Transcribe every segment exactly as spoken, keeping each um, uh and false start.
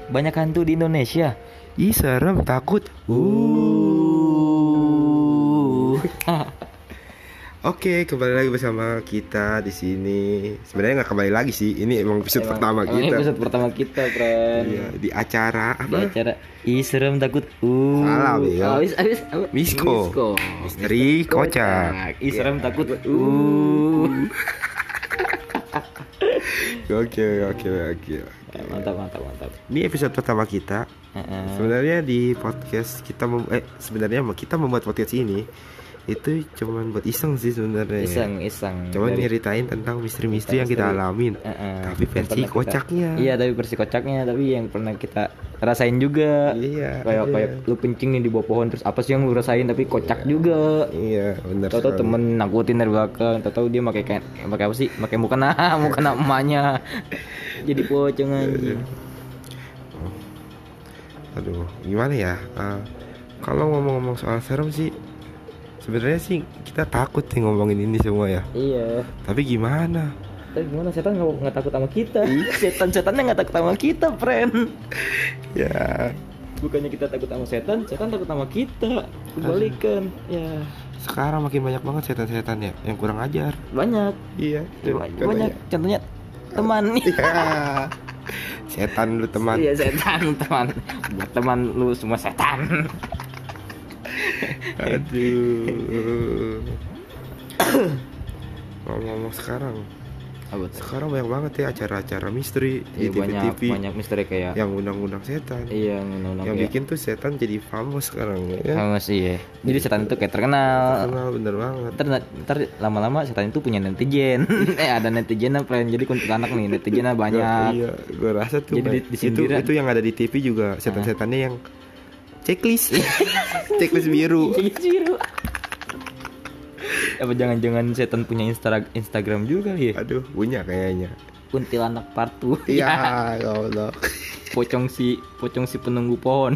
banyak hantu di Indonesia. Ih serem, takut. Uh. Oke, kembali lagi bersama kita di sini. Sebenarnya nggak kembali lagi sih. Ini emang episode Emang- pertama emang kita. Episode pertama kita, friend. Iya, di acara Di apa? acara Ih serem takut. Uh. Salah, Bel. Abis abis apa? Misko. Misko. Misteri kocak. Ih serem takut. Uh. Oke, oke, oke. Mantap mantap mantap. Ini episode pertama kita. Heeh. Sebenarnya di podcast kita mem- eh sebenarnya kita membuat podcast ini itu cuman buat iseng sih sebenarnya. Iseng iseng. Cuman Dari- nyeritain tentang misteri-misteri yang kita Misteri. alamin. Heeh. Tapi Yang versi pernah kita- kocaknya. Iya, tapi versi kocaknya, tapi yang pernah kita rasain juga. Iya, Kayak iya. kayak lu kencing nih di bawah pohon, terus apa sih yang lu rasain tapi kocak juga. Iya, benar. Tahu-tahu sekali. temen nakutin dari belakang, tahu-tahu dia pakai kayak pakai apa sih? Pakai mukena, mukena emaknya. Jadi pocong anjing. Aduh, gimana ya? Uh, kalau ngomong-ngomong soal serem sih, sebenarnya sih kita takut nih ngomongin ini semua ya. Iya. Tapi gimana? Tapi gimana, setan nggak nggak takut sama kita? Setan-setannya nggak takut sama kita, friend. Ya, Bukannya kita takut sama setan, setan takut sama kita. Kebalikan. Ya, sekarang makin banyak banget setan-setan ya yang kurang ajar. banyak. Iya, Banyak. banyak. Contohnya teman. Ya. Setan lu teman. Iya, setan teman. Buat teman lu semua setan. Aduh. Ngomong-ngomong sekarang, Apa tuh? sekarang banyak banget ya acara-acara misteri Iya, di banyak T V-T V banyak misteri kayak yang undang-undang setan. iya undang-undang Yang kayak bikin tuh setan jadi famous sekarang ya. famous iya. Jadi setan itu kayak terkenal. Terkenal bener banget. Ntar, ntar lama-lama setan itu punya netizen. eh ada netizen apa yang jadi kuntilanak nih, netizennya banyak. Iya, gue rasa tuh Jadi Bay, di- di itu sindiran. itu yang ada di T V juga setan-setannya yang checklist, checklist biru. Biru. Apa jangan-jangan setan punya Insta Instagram juga ya? Aduh, punya kayaknya. Kuntilanak partu. Iya, ya Allah. Pocong si pocong si penunggu pohon.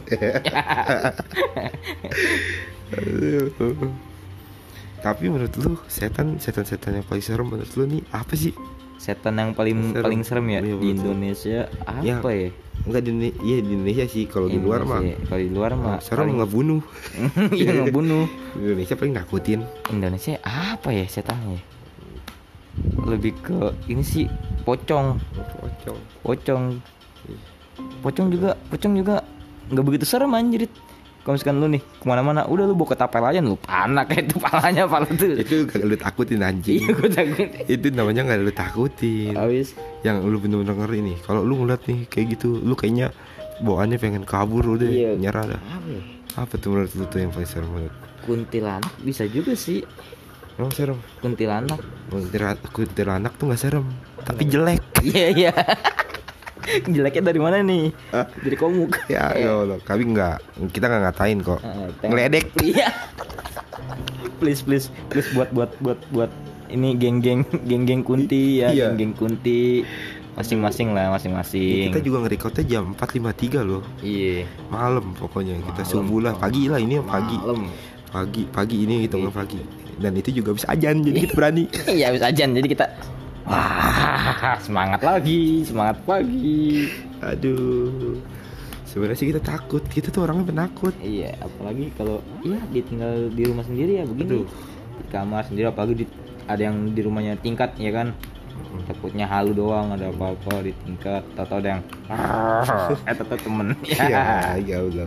Aduh. Tapi menurut lu setan setan-setan yang paling serem menurut lu nih apa sih? Setan yang paling Serem. paling serem ya Iya, di betul. Indonesia Ya. apa ya? Enggak di Indonesia, iya di Indonesia sih. Kalau di luar mah Indonesia. Kalau di luar mah serem paling- ngebunuh. Iya, ngebunuh. Di Indonesia paling nakutin. Indonesia apa ya setannya? Lebih ke ini sih pocong. Pocong. Pocong. Pocong juga, pocong juga nggak begitu serem anjir. Kalau misalkan lu nih kemana-mana, udah lu bawa ketapel aja lu panak kayak itu palanya pala tuh. Itu gak lu takutin anjing. Iya, gue takut. Itu namanya gak lu takutin. Habis Yang lu bener-bener ngeri nih. Kalau lu ngeliat nih kayak gitu, lu kayaknya bawaannya pengen kabur udah, Iya. nyerah dah. apa ya? Apa tuh menurut lu tuh yang paling serem menurut? Kuntilanak bisa juga sih. Emang serem? Kuntilanak. Kuntilanak, kuntilanak tuh gak serem, tapi jelek. Iya iya. Jeleknya dari mana nih? Hah? Dari komuk. Ya, ya Allah, kami nggak, kita nggak ngatain kok. Ah, tengok. Ngeledek. Iya. Please please please buat buat buat buat ini geng-geng geng-geng kunti ya, Iya. geng-geng kunti masing-masing lah masing-masing. Kita juga ngerekodnya jam empat lima puluh tiga loh, Iya. malam pokoknya. Kita Malam. subuh lah, pagi lah ini pagi. Malam. Pagi, pagi ini kita Iya. nggak pagi. Dan itu juga bisa ajan, jadi kita berani. Iya habis ajan jadi kita wah semangat lagi semangat pagi. Aduh, sebenarnya sih kita takut. Kita tuh orangnya penakut. Iya apalagi kalau ya dia tinggal di rumah sendiri ya begini. Aduh. Di kamar sendiri apalagi di, ada yang di rumahnya tingkat ya kan. Takutnya halu doang ada apa-apa di tingkat atau ada yang eh tetap temen Iya, ya Allah.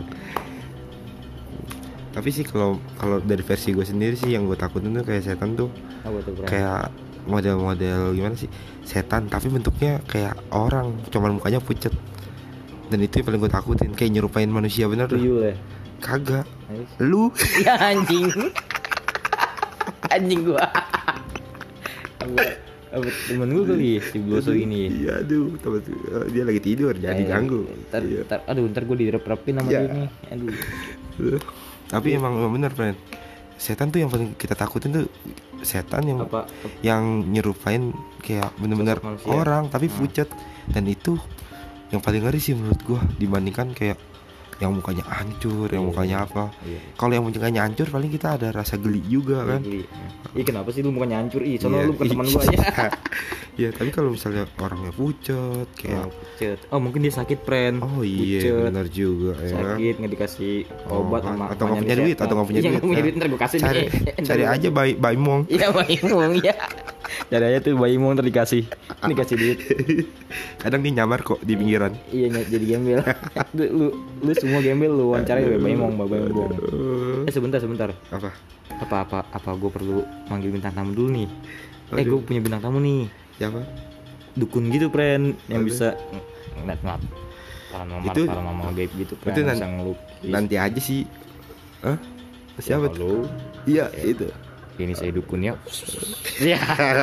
Tapi sih kalau kalau dari versi gue sendiri sih yang gue takutin tuh kayak setan tuh apa tuh bro? kayak model-model gimana sih, setan tapi bentuknya kayak orang, cuman mukanya pucet. Dan itu yang paling gue takutin, kayak nyerupain manusia bener tuh. Tuyul ya. Kagak, Habis. lu. Ya anjing. Anjing gua. Apa, apa temen gua kali ya, si Bloso ini. Iya, aduh, temen, eh, dia lagi tidur, jangan Eh, diganggu. Ntar, Iya. ntar, aduh, ntar gua direp-repin sama Iya. dia nih. Aduh. Uh, Tapi emang, emang bener, friend. Setan tuh yang paling kita takutin tuh setan yang Apa? yang nyerupain kayak bener-bener Sosok manusia. orang tapi Hmm. pucet. Dan itu yang paling ngeri sih menurut gua dibandingkan kayak yang mukanya hancur, yang Iya, mukanya apa. Iya. Kalau yang mukanya hancur paling kita ada rasa geli juga kan. Geli. Ih kenapa sih lu mukanya hancur? Ih soalnya Iya, lu bukan teman gua iya. ya. Iya, tapi kalau misalnya orangnya pucet Oh, kayak pucet. Oh mungkin dia sakit friend. oh iya Pucet. benar juga ya. Sakit nggak dikasih Oh, obat kan. sama Atau nggak mamanya punya duit, disetor. atau nggak punya Iya, duit. nggak punya Nah, duit ntar gua kasih Cari nih. cari aja bayi bayi mong. Iya bayi mong ya. Cari aja tuh bayi mong ntar dikasih dikasih duit. Kadang dia nyamar kok di pinggiran. Iya ny- jadi gembel. lu, lu lu semua gembel lu wawancara ya bayi mong bayi mong. Eh sebentar sebentar. Apa? Apa apa apa gue perlu manggil bintang tamu dulu nih. Eh Aduh. gue punya bintang tamu nih. Siapa? Dukun gitu friend yang Aduh. bisa ngeliat ngeliat paranormal Itu- paranormal gaib gitu friend. itu nan- bisa ngelukis. Nanti aja sih. Hah? Siapa tuh? Halo. Iya, itu. Ini saya dukun ya. Iya.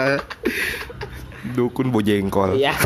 Dukun bojengkol. Iya.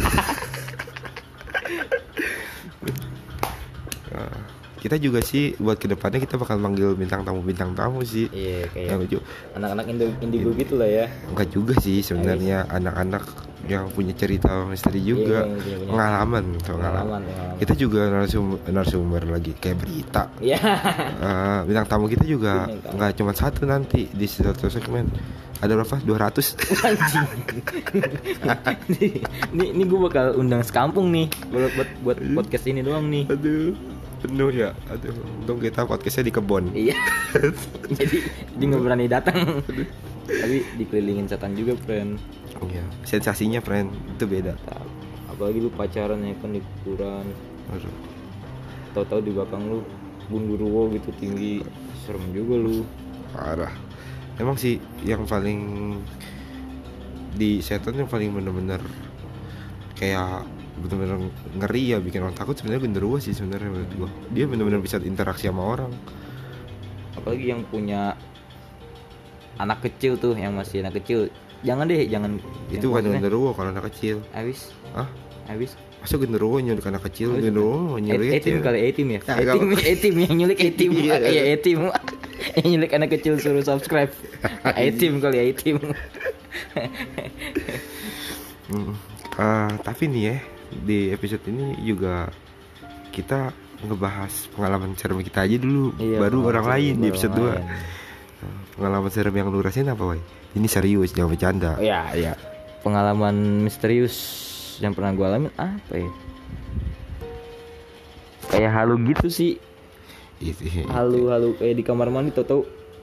Nah, kita juga sih buat kedepannya kita bakal manggil bintang tamu bintang tamu sih. Iya kayak Yang lucu. anak-anak Indo- indigo gitu lah ya. Enggak juga sih sebenarnya anak-anak yang punya cerita misteri juga. Iya, yang punya- punya Pengalaman, pengalaman. Pengalaman, pengalaman. Kita juga narasumber, narasumber lagi kayak berita. Iya. Eh, bintang tamu kita juga Bintang tamu. nggak cuma satu nanti di satu segmen. Ada berapa? dua ratus. Anjing. nih, nih, nih gue bakal undang sekampung nih buat buat, buat podcast ini doang nih. Aduh, penuh ya. Aduh, untung kita podcastnya di kebon. Iya. jadi dia nggak berani datang. Tapi dikelilingin setan juga, friend. Iya, sensasinya friend itu beda. Apalagi lu pacaran ya kan di kuburan. Aduh. Tahu-tahu di belakang lu gundurwo gitu tinggi. Serem juga lu. Parah. Emang sih yang paling di setan yang paling bener-bener kayak bener-bener ngeri ya bikin orang takut sebenarnya genderuwo sih sebenarnya menurut gua. Dia bener-bener bisa interaksi sama orang. Apalagi yang punya anak kecil tuh, yang masih anak kecil. Jangan deh, jangan. Itu bukan genderuwo kalau anak kecil. Habis, Hah? habis. Masa genderuwo nyulik anak kecil? Genderuwo nyulik Etim kali, etim ya. Ya, Etim, nggak- etim yang nyulik etim. Iya. Iya, etim. Yang nyulik anak kecil suruh subscribe. Etim kali ya, etim. Mm. Ah, tapi nih ya di episode ini juga kita ngebahas pengalaman serem kita aja dulu, Iya, baru pengalaman orang serem lain di orang episode dua. lain. Pengalaman serem yang lu rasain apa, Wai? Ini serius, jangan bercanda. Oh, iya, iya. Pengalaman misterius yang pernah gue alamin apa ya? Kayak halu gitu sih. Itu- Halu-halu kayak di kamar mandi tau-tau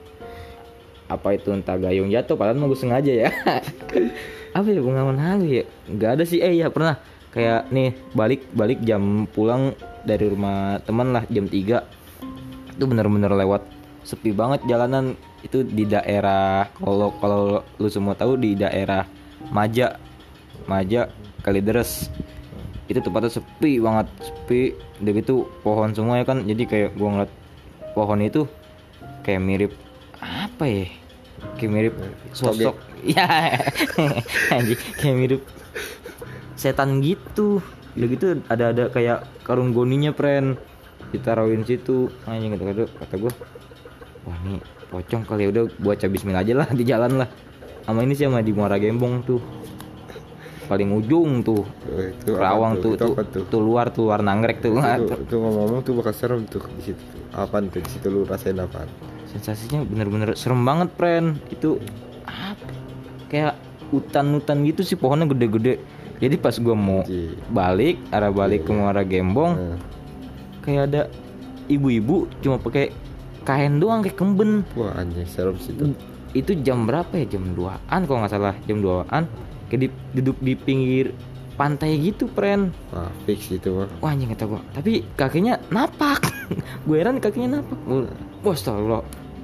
apa itu entah gayung jatuh padahal mau gue sengaja ya. Apa ya pengalaman halu ya? Nggak ada sih. Eh ya pernah kayak nih balik balik jam pulang dari rumah teman lah jam tiga. Itu bener-bener lewat sepi banget jalanan itu di daerah kalau kalau lu semua tahu di daerah Maja Maja Kalideres. Itu tempatnya sepi banget, sepi. Udah gitu pohon semua ya kan. Jadi kayak gua ngeliat pohon itu kayak mirip apa ya? Kayak mirip sosok. Ya. Anjing, kayak mirip setan gitu. Udah gitu ada ada kayak karung goninya, friend. Ditaruhin situ. Anjing kata kata gua. Wah, ini pocong kali ya, udah baca bismillah aja lah di jalan lah. Sama ini sih sama di Muara Gembong tuh. Paling ujung tuh. Oh, itu apa Rawang tuh? tuh Itu tuh, apa tuh, tuh luar tuh luar Nagrek tuh. Itu, itu ngomong-ngomong tuh bakal serem tuh di situ. Tuh. Apaan tuh di situ lu rasain apaan? Sensasinya bener-bener serem banget, friend. Itu apa? Kayak hutan-hutan gitu sih, pohonnya gede-gede. Jadi pas gua mau Ji. balik arah balik ke Muara Gembong, Nah. kayak ada ibu-ibu cuma pakai kain doang kayak kemben. Wah anjing serem sih itu. Itu jam berapa ya? Jam duaan kalau nggak salah, jam duaan. Kayak di, duduk di pinggir pantai gitu, friend. Wah fix itu mah. Wah anjing kata gua. Tapi kakinya napak. Gue heran kakinya napak. Wah astagfirullah.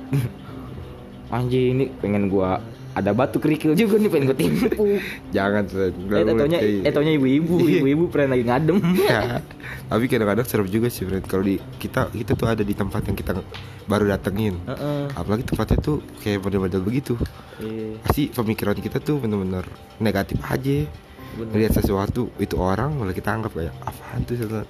Anjing ini pengen gua ada batu kerikil juga nih pengen gua timpuk. Jangan friend. Eh taunya eh taunya ibu-ibu, ibu-ibu friend lagi ngadem. Ya, tapi kadang-kadang serem juga sih friend. Kalau di kita kita tuh ada di tempat yang kita baru datengin. Heeh. Apalagi tempatnya tuh kayak model-model begitu. Iya. Pasti pemikiran kita tuh bener-bener negatif aja. Melihat sesuatu itu orang malah kita anggap kayak apaan tuh setan.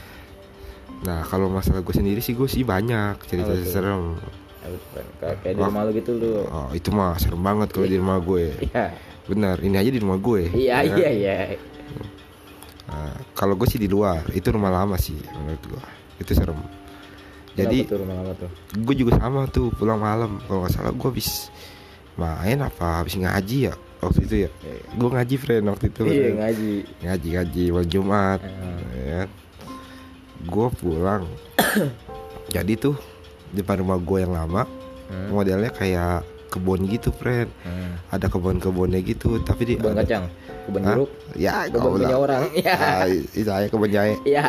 Nah kalau masalah gue sendiri sih gue sih banyak cerita Apa tuh? serem. Kayak di rumah lu gitu lu. Oh itu mah serem banget kalau di rumah gue. Iya. Benar ini aja di rumah gue. Iya ya kan? iya iya. Nah, kalau gue sih di luar itu rumah lama sih menurut gue itu serem. Jadi Kenapa tuh rumah lama tuh? gue juga sama tuh pulang malam. Kalau nggak salah gue habis main apa habis ngaji ya waktu itu ya. Gue ngaji friend waktu itu. Iya friend. ngaji. Ngaji ngaji malam Jumat. Hmm. Ya. Gue pulang. Jadi tuh depan rumah gue yang lama Hmm. modelnya kayak kebun gitu friend. Hmm. Ada kebun-kebunnya gitu tapi di Kebun ada- kacang, kebun Hah? jeruk, Ya kebun kau punya lah. orang. Iya. Ah, itu saya kebun jahe. Iya.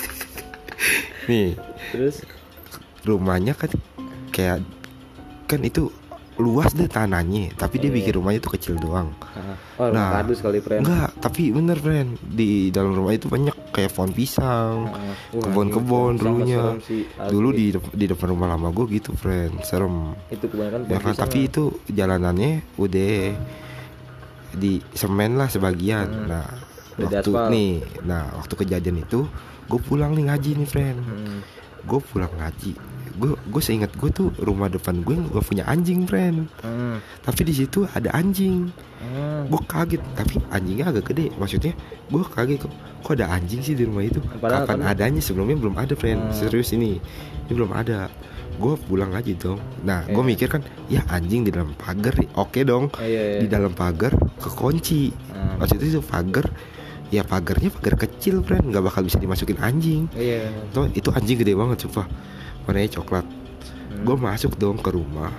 Nih Terus rumahnya kan kayak kan itu luas deh tanahnya tapi dia Iya. bikin rumahnya tuh kecil doang. ah, oh rumah Nah, kardus kali friend. Enggak, tapi bener friend di dalam rumah itu banyak kayak pohon pisang, Ah, wah, kebun-kebun ini sangat dulunya. serem sih, asli. Dulu di dep- di depan rumah lama gue gitu friend, serem. Itu kebanyakan Ya pohon kan, pisang tapi lah. itu jalanannya udah di semen lah sebagian. Hmm. Nah, Udah waktu aspal. nih, nah waktu kejadian itu gue pulang nih ngaji nih friend. Hmm. Gue pulang ngaji, gue gue seingat gue tuh rumah depan gue nggak punya anjing friend. Hmm. Tapi di situ ada anjing. Hmm. Gue kaget, tapi anjingnya agak gede. Maksudnya gue kaget kok, kok ada anjing sih di rumah itu. Padahal Kapan kan- adanya, sebelumnya belum ada friend. Hmm. Serius ini, ini belum ada. Gue pulang aja dong. Nah, gue Iya. mikir kan, ya anjing di dalam pagar, oke dong. Oh, iya, iya. Di dalam pagar kekunci. Hmm. Maksudnya itu pagar, ya pagarnya pagar kecil friend, nggak bakal bisa dimasukin anjing. Iya. Tuh, itu anjing gede banget, sumpah. Warnanya coklat. Hmm. Gue masuk dong ke rumah.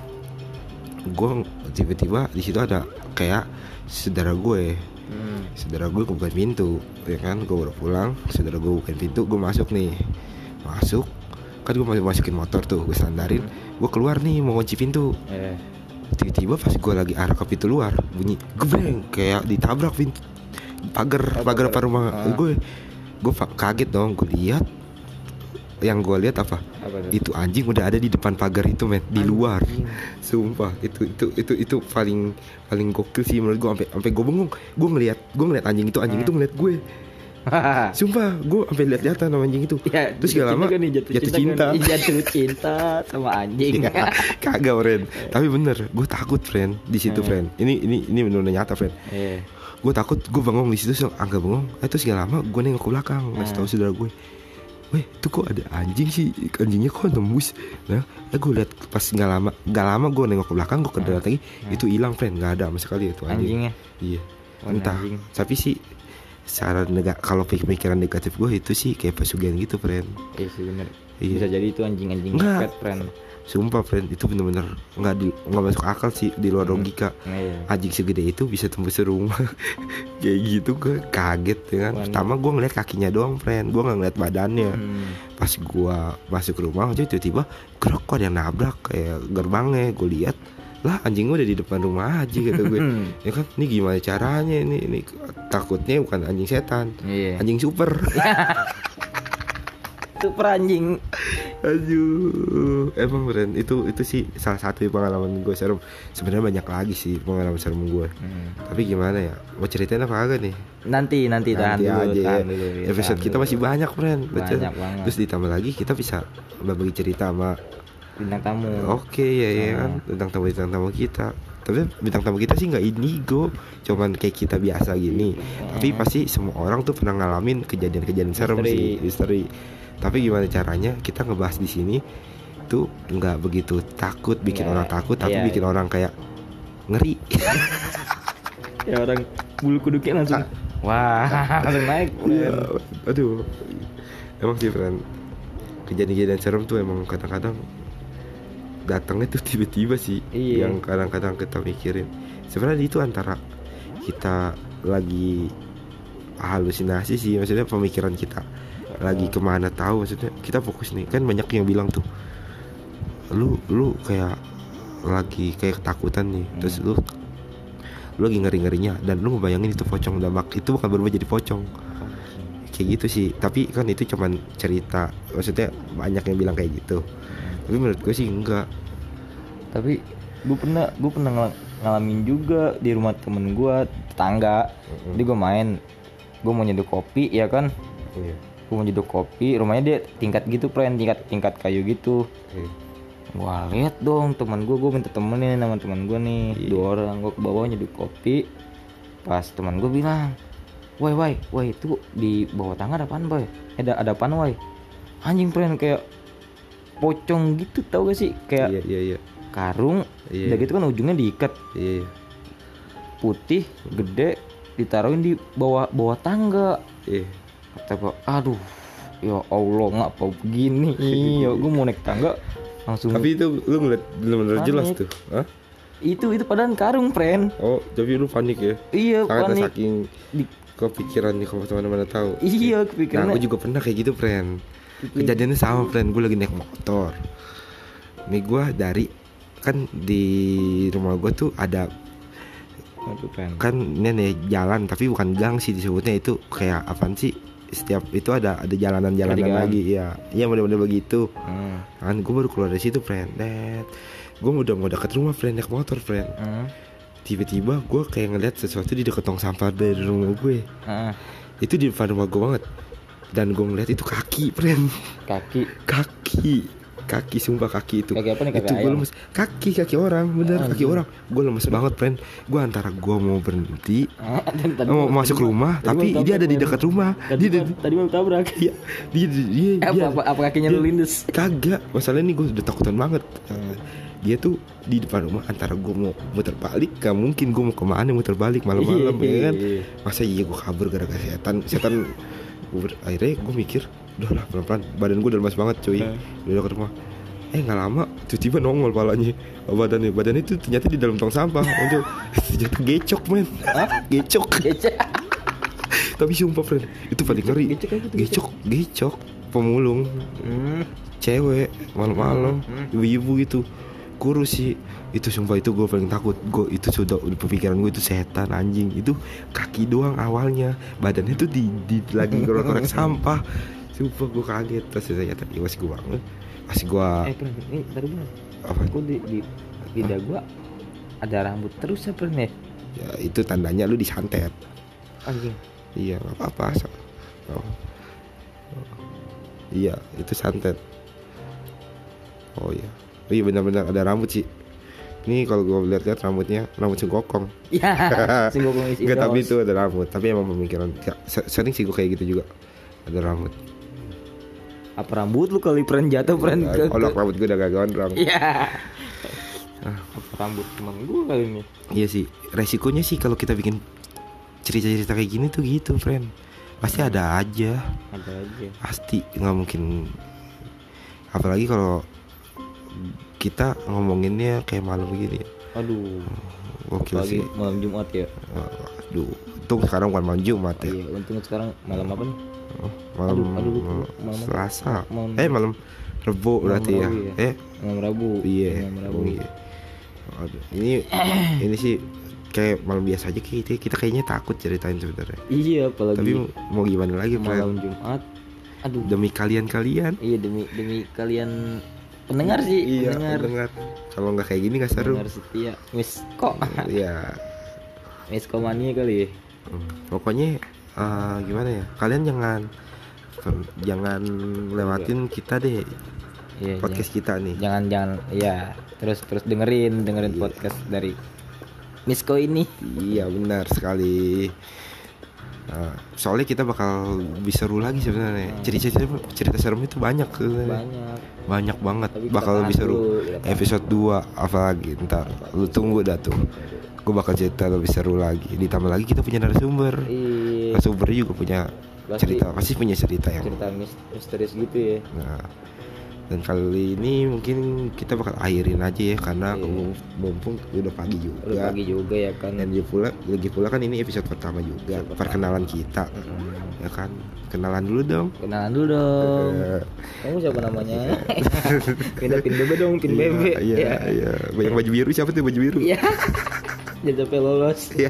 Gue tiba-tiba di situ ada kayak saudara gue. Hmm. Saudara gue bukain pintu, ya kan? Gue baru pulang, saudara gue bukain pintu, gue masuk nih. Masuk, kan gue masih masukin motor tuh, gue sandarin. Gue keluar nih mau kunci pintu. Eh. Tiba-tiba pas gue lagi arah ke pintu luar, bunyi gebreng kayak ditabrak pintu pagar Oh, pagar pagar. apa rumah Ah. gue. Gue fa- kaget dong, gue lihat. Yang gue lihat apa? Apa tuh? Itu anjing udah ada di depan pagar itu men, di luar. Anjing. Sumpah, itu itu itu itu paling paling gokil sih menurut gue. Sampai sampai gue bengong. Gue ngelihat gue ngelihat anjing itu, anjing Hmm. itu ngelihat gue. Sumpah, gue sampai lihat-lihatan sama anjing itu. Ya, Terus gak lama juga nih, jatuh, jatuh cinta, cinta. kan? Iya, jatuh cinta sama anjing. Ya, kagak friend. Tapi bener, gue takut friend di situ Hmm. friend. Ini ini ini benar-benar nyata friend. Iya. Gue takut, gue bengong di situ, so, agak bengong. Eh terus gak lama gue nengok ke belakang, ngasih tahu saudara gue. Weh, itu kok ada anjing sih? Anjingnya kok nembus? Nah, eh gue lihat pas nggak lama, nggak lama gue nengok ke belakang, gue kedekat lagi, itu hilang friend, nggak ada sama sekali itu anjing. Anjingnya. Iya, Oh, entah. anjing. Tapi sih, secara nega, kalau pemikiran negatif gue itu sih kayak pesugihan gitu friend. Iya sih bener. Iya. Bisa jadi itu anjing-anjing Enggak. pet friend. Sumpah friend, itu bener-bener nggak di nggak masuk akal sih, di luar logika. Nah, iya. Anjing segede itu bisa tembus rumah. Kayak gitu gue kaget ya kan. Wah, Pertama gue ngeliat kakinya doang friend, gue nggak ngeliat badannya. Hmm. Pas gue masuk rumah aja tiba-tiba gerok kok ada yang nabrak kayak gerbangnya. Gue lihat lah anjing gue udah di depan rumah aja gitu gue. Ya kan, ini gimana caranya ini ini takutnya bukan anjing setan, Iya. anjing super. Super anjing. Aduh, emang friend itu itu sih salah satu pengalaman gue serem. Sebenarnya banyak lagi sih pengalaman serem gue. Hmm. Tapi gimana ya? Mau ceritain apa kagak nih? Nanti nanti tahan Nanti dulu, aja ya. tahan dulu. ya, Episode tahan kita dulu. masih banyak friend. Betul. Banyak banget. Terus ditambah lagi kita bisa berbagi cerita sama Bintang tamu. oke ya ya kan tentang tamu bintang tamu kita. Tapi bintang tamu kita sih nggak indigo, cuman kayak kita biasa gini. Tapi pasti semua orang tuh pernah ngalamin kejadian-kejadian serem Misteri. sih, misteri. Tapi gimana caranya kita ngebahas di sini tuh nggak begitu takut, bikin Nggak, orang takut, tapi iya, bikin iya. orang kayak ngeri. Ya orang bulu kuduknya langsung wah, langsung naik. Iya, friend. aduh. Emang sih friend, kejadian-kejadian serem tuh emang kadang-kadang datangnya tuh tiba-tiba sih. Iya. Yang kadang-kadang kita mikirin. Sebenarnya itu antara kita lagi halusinasi sih, maksudnya pemikiran kita lagi kemana tahu, maksudnya kita fokus nih. Kan banyak yang bilang tuh, lu lu kayak lagi kayak ketakutan nih, terus lu lu lagi ngeri-ngerinya dan lu ngebayangin itu pocong, damak itu bukan berubah jadi pocong. Kayak gitu sih, tapi kan itu cuman cerita, maksudnya banyak yang bilang kayak gitu. Tapi menurut gue sih enggak. Tapi gue pernah gue pernah ngal- ngalamin juga di rumah temen gue tetangga. Jadi gue main, gue mau nyeduh kopi ya kan. Iya. Gue mau nyeduh kopi, rumahnya dia tingkat gitu friend, tingkat tingkat kayu gitu. Iya. Gua lihat dong teman gue, gue minta temenin sama teman gue nih, Iya. dua orang. Gue ke bawah nyeduh kopi. Pas teman gue bilang, "Woi, woi, woi, itu di bawah tangga ada apaan, boy? Ada ada apaan, woi?" Anjing friend, kayak pocong gitu, tau gak sih? Kayak Iya iya iya. karung, Iya. udah gitu kan ujungnya diikat, Iya. putih, gede, ditaruhin di bawah bawah tangga. Iya. Kata gua, aduh, ya Allah ngapa begini? Ya gue mau naik tangga langsung. Tapi itu lu ngeliat bener-bener Panik. jelas tuh. Hah? itu itu padahal karung, friend. Oh, tapi lu panik ya? Iya, Sangat panik. saking Di- kepikiran nih kalau teman-teman tahu. Iya, Nah, kepikirannya. gue juga pernah kayak gitu, friend. Kejadiannya sama, friend. Gue lagi naik motor. Nih gue dari kan di rumah gue tuh ada Aduh, friend. kan ini nih jalan tapi bukan gang sih disebutnya, itu kayak apaan sih? Setiap itu ada ada jalanan-jalanan Pertigaan. lagi, ya. Iya, bener-bener begitu. Hmm. Kan gue baru keluar dari situ, friend. Net. Gue udah mau deket rumah, friend, naik motor, friend. Hmm. Tiba-tiba gue kayak ngeliat sesuatu di dekat tong sampah dari rumah gue. Ah, Itu di depan rumah gue banget. Dan gue ngeliat itu kaki, friend. kaki. Kaki kaki sumpah kaki itu Kaki apa nih, kaki itu gue ayam? lemes, kaki kaki orang bener, Ah, kaki anjing. orang. Gue lemes banget, friend. Gue antara gue mau berhenti Ah, dan tadi mau mau- masuk tadi mau- rumah, tadi tapi mau dia ada di tabrak, dekat rumah. Tadi, Dia mau- ada- tadi mau tabrak. Iya, dia dia dia, Eh, apa, dia- apa, apa kakinya dia- lu lindes? Kagak, masalahnya nih gue udah takutan banget. Dia tuh di depan rumah, antara gue mau muter balik, gak mungkin gue mau kemana muter balik malam-malam, Iya. ya kan? Masa iya gue kabur gara-gara setan? Setan. Gue ber- akhirnya gue mikir, udah lah pelan-pelan. Badan gue udah lemas banget, cuy. Hmm. Udah ke rumah. Eh nggak lama, tiba-tiba nongol palanya, badannya, badannya itu ternyata di dalam tong sampah. Untuk ternyata gecok, men. Gecok. Gecek. Tapi sumpah, friend, itu paling ngeri. Gecok apa tuh, Gecok, gecok, pemulung. Hmm. Cewek malam-malam, Hmm. ibu-ibu gitu, kurus sih. Itu sumpah, itu gue paling takut. Gue itu sudah di pemikiran gue itu setan, anjing. Itu kaki doang awalnya, badannya tuh di, di lagi korek-korek sampah. Sumpah gue kaget. Terus ternyata ya masih gue bangun, masih gue Eh, friend, ini tadi gua. apa? Kok di di lidah gua ada rambut terus ya, friend ya? Ya itu tandanya lu disantet. Anjing. Iya, nggak apa-apa. so- oh. Iya, itu santet. Oh iya, oh iya benar-benar ada rambut sih. Ini kalau gue lihat-lihat rambutnya rambut singkokong. Ya, singgokong isi Enggak, tapi dos. itu ada rambut. Tapi emang pemikiran ya, se- sering sih gue kayak gitu juga. Ada rambut. Apa rambut lu kali, friend, jatuh, friend? ke- Oh, ke- rambut gue udah gak gondrong. Iya. Apa rambut teman gua kali ini? Iya sih, resikonya sih kalau kita bikin cerita-cerita kayak gini tuh gitu, friend. Pasti ada aja. Ada aja. Pasti nggak mungkin. Apalagi kalau kita ngomonginnya kayak malam begini. Aduh. Gokil Apalagi sih. malam Jumat ya. Aduh, untung sekarang bukan malam Jumat Oh, ya. iya, untung sekarang malam apa nih? Oh, malam Aduh, aduh, lupa. Malam apa? Selasa. Malam- Eh malam Rebo Malam berarti ya. Rabu ya. Eh Malam Rabu. iya. Malam Rabu. Oh, iya. Aduh, ini ini sih kayak malam biasa aja kita kita kayaknya takut ceritain sebenarnya. Iya, apalagi Tapi mau gimana lagi, malam friend? Jumat. Aduh. Demi kalian-kalian. Iya, demi demi kalian pendengar sih, Iya, pendengar. pendengar. Kalau nggak kayak gini nggak seru. Pendengar setia. Miss kok. Iya. Miss komania kali ya. Hmm, Pokoknya eh, gimana ya? Kalian jangan jangan lewatin kita deh, Iya, podcast kita nih. jangan jangan ya terus terus dengerin dengerin Iya. podcast dari Misko ini. Iya benar sekali. Nah, soalnya kita bakal bisa seru lagi sebenarnya. Cerita cerita cerita serem itu banyak sebenarnya. Banyak. Banyak banget. Tapi kita Bakal tahan lebih seru. dulu, kita tahan. Episode dua apalagi ntar. Lu tunggu dah tuh. Gue bakal cerita lebih seru lagi. Ditambah lagi kita punya narasumber. Iya. Narasumber juga punya Pasti. cerita. Pasti punya cerita yang. Cerita mis- misterius gitu ya. Nah, dan kali ini mungkin kita bakal akhirin aja ya karena Iya. mumpung udah pagi juga. Udah pagi juga ya kan. Dan lagi pula, lagi pula kan ini episode pertama juga, Episode perkenalan kita, Mm-mm. ya kan, kenalan dulu dong. Kenalan dulu dong. Eh, Kamu siapa namanya? Pindah pin bebe dong, pin bebe. Iya, iya, iya. Banyak baju biru, siapa tuh baju biru? Iya. Jangan sampai lolos. Iya.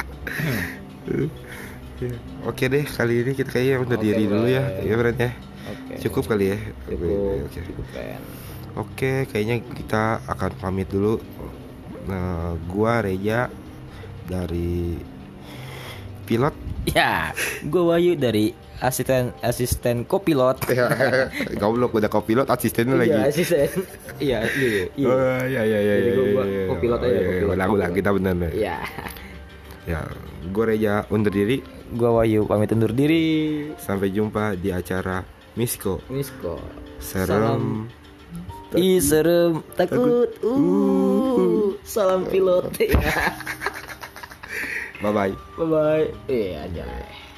Iya. Oke deh, kali ini kita kayaknya udah Oke, diri dulu ya, Bray. ya friend ya. Oke. Cukup kali ya. Cukup. Oke. Cukup kan. Oke, kayaknya kita akan pamit dulu. Nah, gua Reja dari pilot. Ya, gue Wahyu dari asisten asisten kopilot. Goblok, udah kopilot asistennya lagi. Iya, asisten. Iya, iya, iya. Oh iya iya iya. Jadi iya, gua- iya, gua iya. kopilot Oh, aja, iya, iya. kopilot. Ulang-ulang kita bener nih. Iya. Ya, gue Reja undur diri. Gue Wahyu pamit undur diri. Sampai jumpa di acara Misko. Misko. Serem Ih serem, takut. Uh, salam pilot. Bye bye. Bye bye. Iya aja.